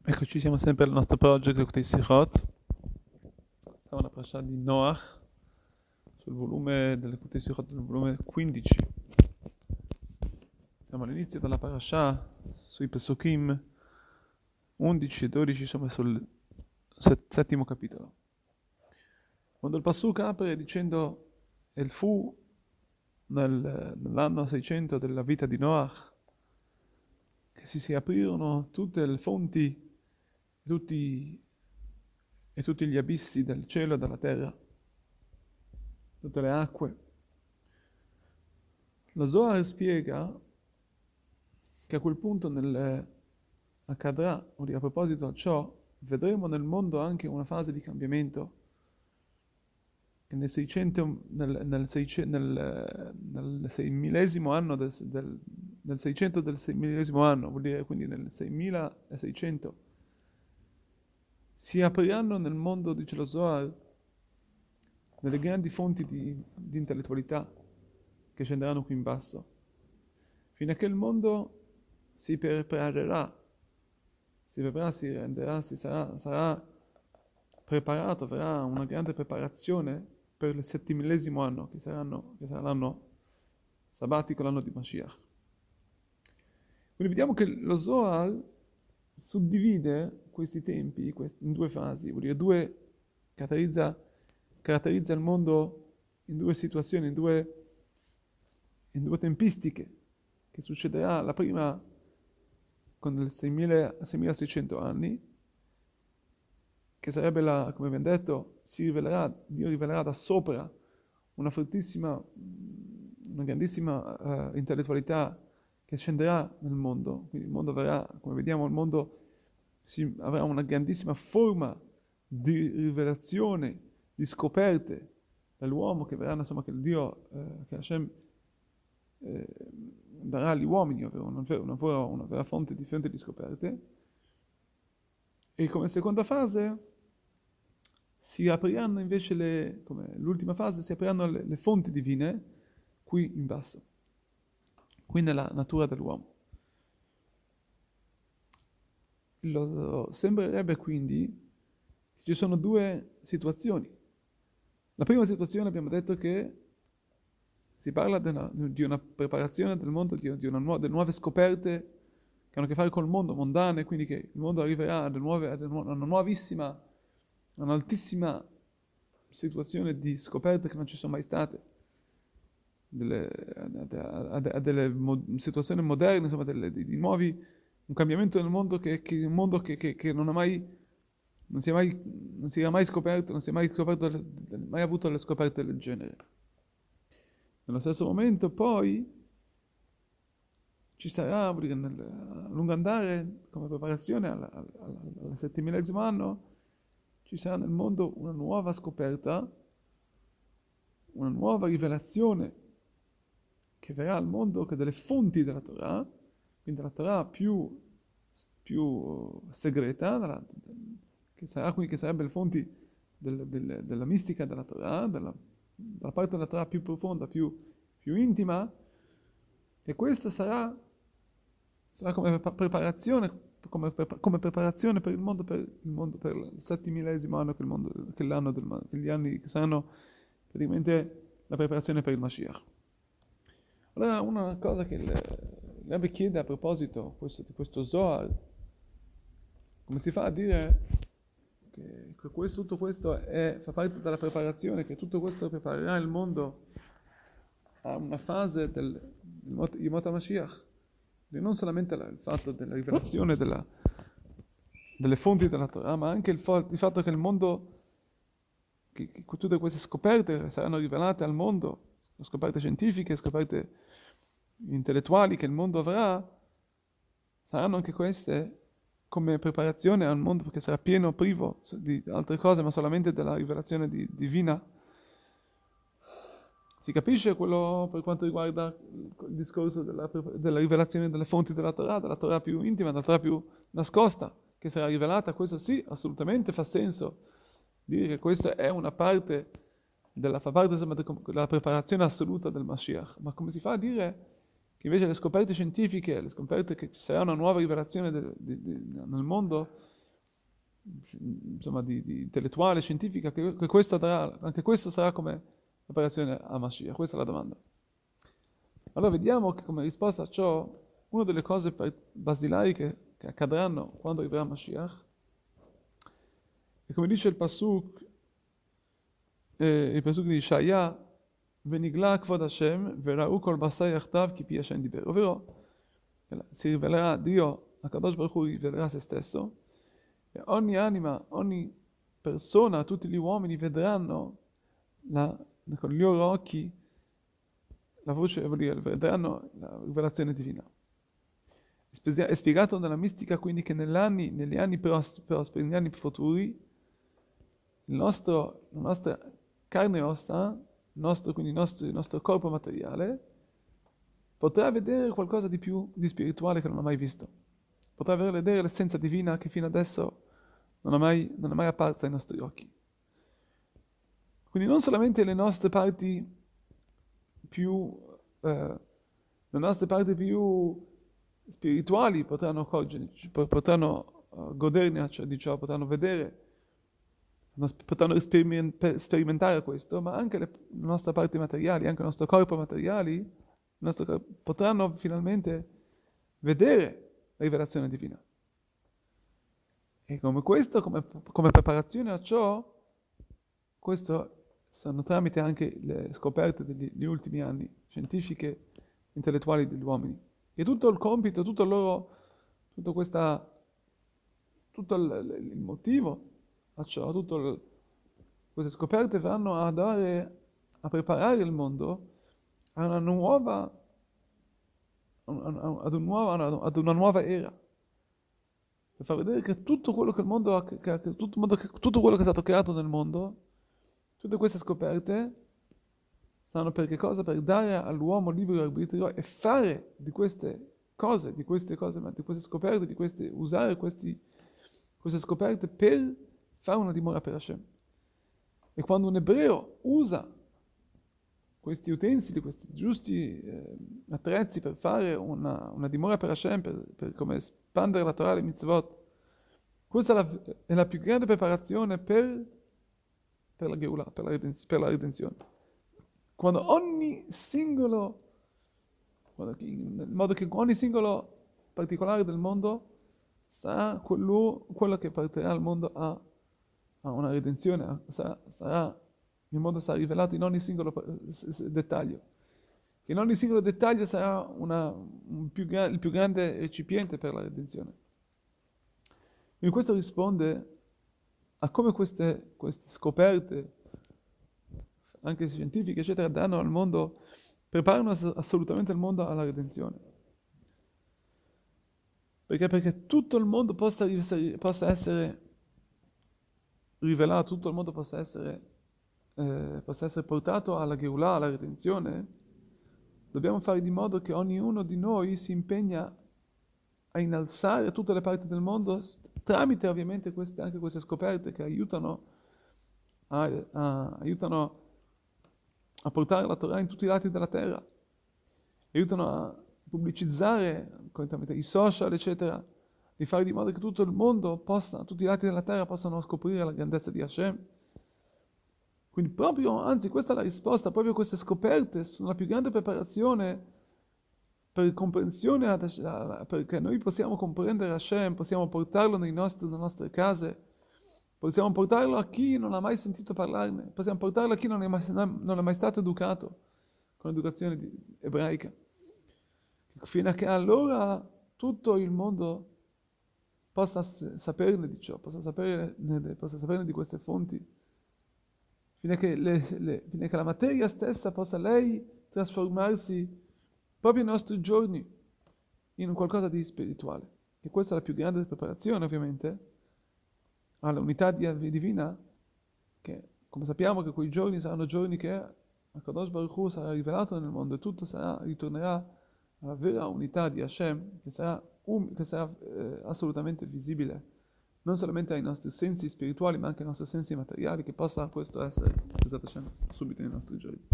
Eccoci, siamo sempre al nostro project Likkutei Sichot. Siamo alla parasha di Noach, sul volume del Likkutei Sichot, del volume 15. Siamo all'inizio della parasha, sui Pesukim 11 e 12, insomma sul settimo capitolo. Quando il Pasuk apre dicendo «El fu nell'anno 600 della vita di Noach, che si aprirono tutte le fonti, tutti e tutti gli abissi del cielo e della terra, tutte le acque». Lo Zohar spiega che a quel punto accadrà, o a proposito di ciò, vedremo nel mondo anche una fase di cambiamento, che nel 600, nel 6000esimo anno nel 600 del 6000esimo anno, vuol dire quindi nel 6600, si apriranno nel mondo, dice lo Zohar, delle grandi fonti di intellettualità che scenderanno qui in basso, fino a che il mondo si preparerà, si renderà, sarà preparato, avrà una grande preparazione per il 7000esimo anno, che sarà l'anno sabbatico, l'anno di Mashiach. Quindi vediamo che lo Zohar suddivide questi tempi in due fasi, vuol dire caratterizza il mondo in due situazioni, in due tempistiche, che succederà la prima con il 6600 anni, che sarebbe come abbiamo detto, Dio rivelerà da sopra una grandissima intellettualità che scenderà nel mondo. Quindi il mondo verrà, come vediamo, il mondo avrà una grandissima forma di rivelazione, di scoperte dall'uomo che verranno, insomma, che il Dio, che Hashem darà agli uomini, ovvero una vera fonte di scoperte. E come seconda fase si apriranno invece come l'ultima fase, si apriranno le fonti divine qui in basso, qui nella natura dell'uomo. Sembrerebbe quindi che ci sono due situazioni. La prima situazione abbiamo detto che si parla di una preparazione del mondo, delle nuove scoperte che hanno a che fare col mondo mondane, quindi che il mondo arriverà ad una nuovissima, un'altissima situazione di scoperte che non ci sono mai state, a delle situazioni moderne, insomma, di nuovi, un cambiamento nel mondo un mondo che non si era mai scoperto, non si è mai avuto le scoperte del genere. Nello stesso momento poi ci sarà, a lungo andare, come preparazione al 7000esimo anno, ci sarà nel mondo una nuova scoperta, una nuova rivelazione che verrà al mondo, che delle fonti della Torah, quindi della Torah più segreta, che sarebbe le fonti della mistica della Torah, dalla parte della Torah più profonda, più intima, e questo sarà come preparazione, come preparazione per il mondo, per il 7000esimo anno, che gli anni che saranno praticamente la preparazione per il Mashiach. Allora, una cosa che il Rebbe chiede a proposito di questo Zohar, come si fa a dire che tutto questo fa parte della preparazione, che tutto questo preparerà il mondo a una fase del Yemot HaMashiach, e non solamente il fatto della rivelazione delle fonti della Torah, ma anche il fatto che il mondo, che tutte queste scoperte saranno rivelate al mondo, scoperte scientifiche, scoperte intellettuali che il mondo avrà, saranno anche queste come preparazione al mondo, perché sarà privo di altre cose, ma solamente della rivelazione divina. Si capisce quello per quanto riguarda il discorso della rivelazione delle fonti della Torah più intima, della Torah più nascosta, che sarà rivelata. Questo sì, assolutamente fa senso dire che questa è una parte fa parte insomma, della preparazione assoluta del Mashiach. Ma come si fa a dire che invece le scoperte scientifiche, le scoperte che ci sarà una nuova rivelazione nel mondo, insomma, di intellettuale, scientifica, che questo anche questo sarà come preparazione a Mashiach? Questa è la domanda. Allora vediamo che come risposta a ciò, una delle cose basilari che accadranno quando arriverà Mashiach, e come dice il pasuk di Ishaya, Venigla kvod Hashem, vera'u kol basar yachtav ki pi Hashem diber. Ovvero, si rivelerà Dio, Akadosh Baruch Hu rivelerà se stesso, e ogni anima, ogni persona, tutti gli uomini vedranno con gli loro occhi la voce, vuol dire, vedranno la rivelazione divina. È spiegato nella mistica quindi che negli anni prosperi, negli anni futuri, la nostra carne e ossa, quindi il nostro corpo materiale, potrà vedere qualcosa di spirituale che non ha mai visto. Potrà vedere l'essenza divina che fino adesso non è mai apparsa ai nostri occhi. Quindi non solamente le nostre parti più spirituali potranno goderne di ciò, potranno vedere, potranno sperimentare questo, ma anche le nostre parti materiali, anche il nostro corpo materiali, potranno finalmente vedere la rivelazione divina. E come questo, come preparazione a ciò, questo sono tramite anche le scoperte degli ultimi anni, scientifiche, intellettuali degli uomini. E tutto il compito, tutto il motivo a ciò, queste scoperte vanno a preparare il mondo a una nuova era. Per far vedere che tutto quello che il mondo tutto quello che è stato creato nel mondo, tutte queste scoperte stanno per che cosa? Per dare all'uomo libero arbitrio e fare di queste scoperte, usare queste scoperte per fare una dimora per Hashem. E quando un ebreo usa questi utensili, questi giusti attrezzi per fare una dimora per Hashem, per come espandere la Torah e le mitzvot, questa è la più grande preparazione per la Geulah, per la redenzione. In modo che ogni singolo particolare del mondo sarà quello che porterà il mondo a una redenzione, il mondo sarà rivelato in ogni singolo dettaglio. In ogni singolo dettaglio sarà il più grande recipiente per la redenzione. Quindi questo risponde a come queste scoperte, anche scientifiche, eccetera, danno al mondo, preparano assolutamente il mondo alla redenzione. Perché tutto il mondo possa essere rivelato, tutto il mondo possa essere portato alla Geulah, alla redenzione, dobbiamo fare di modo che ognuno di noi si impegna a innalzare tutte le parti del mondo tramite ovviamente anche queste scoperte che aiutano a portare la Torah in tutti i lati della terra, aiutano a pubblicizzare tramite i social, eccetera, di fare di modo che tutto il mondo tutti i lati della terra possano scoprire la grandezza di Hashem. Quindi questa è la risposta, proprio queste scoperte sono la più grande preparazione per comprensione, perché noi possiamo comprendere Hashem, possiamo portarlo nelle nostre case, possiamo portarlo a chi non ha mai sentito parlarne, possiamo portarlo a chi non è mai stato educato con l'educazione ebraica. Fino a che allora tutto il mondo possa saperne di ciò, possa saperne di queste fonti, fino a che la materia stessa possa lei trasformarsi proprio nei nostri giorni in qualcosa di spirituale. E questa è la più grande preparazione, ovviamente, all'unità divina, che come sappiamo che quei giorni saranno giorni che Akadosh Baruch Hu sarà rivelato nel mondo e tutto ritornerà alla vera unità di Hashem, che sarà assolutamente visibile, non solamente ai nostri sensi spirituali, ma anche ai nostri sensi materiali, che possa questo essere, subito nei nostri giorni.